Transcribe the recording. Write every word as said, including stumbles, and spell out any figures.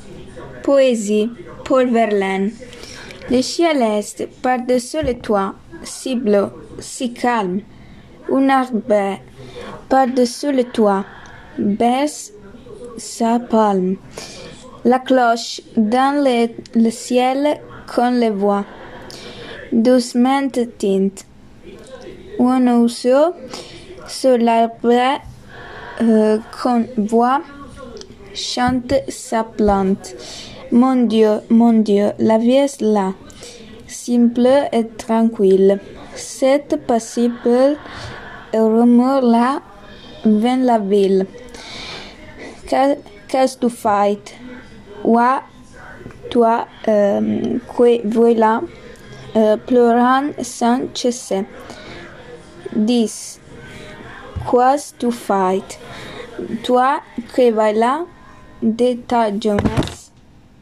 Poésie, Paul Verlaine. Le ciel est par-dessus le toit, si bleu, si calme. Un arbre par-dessus le toit baisse sa palme. La cloche dans le, le ciel qu'on le voit doucement tinte. Un oiseau sur l'arbre euh, qu'on voit chante sa plainte. Mon Dieu, mon Dieu, la vie est là, simple et tranquille. C'est paisible et rumeur là vient la ville. Qu'est-ce que tu fais? Ouais, toi, euh, qui voilà, euh, pleurant sans cesser. Dis, qu'est-ce que tu fais? Toi qui voilà de ta jeunesse.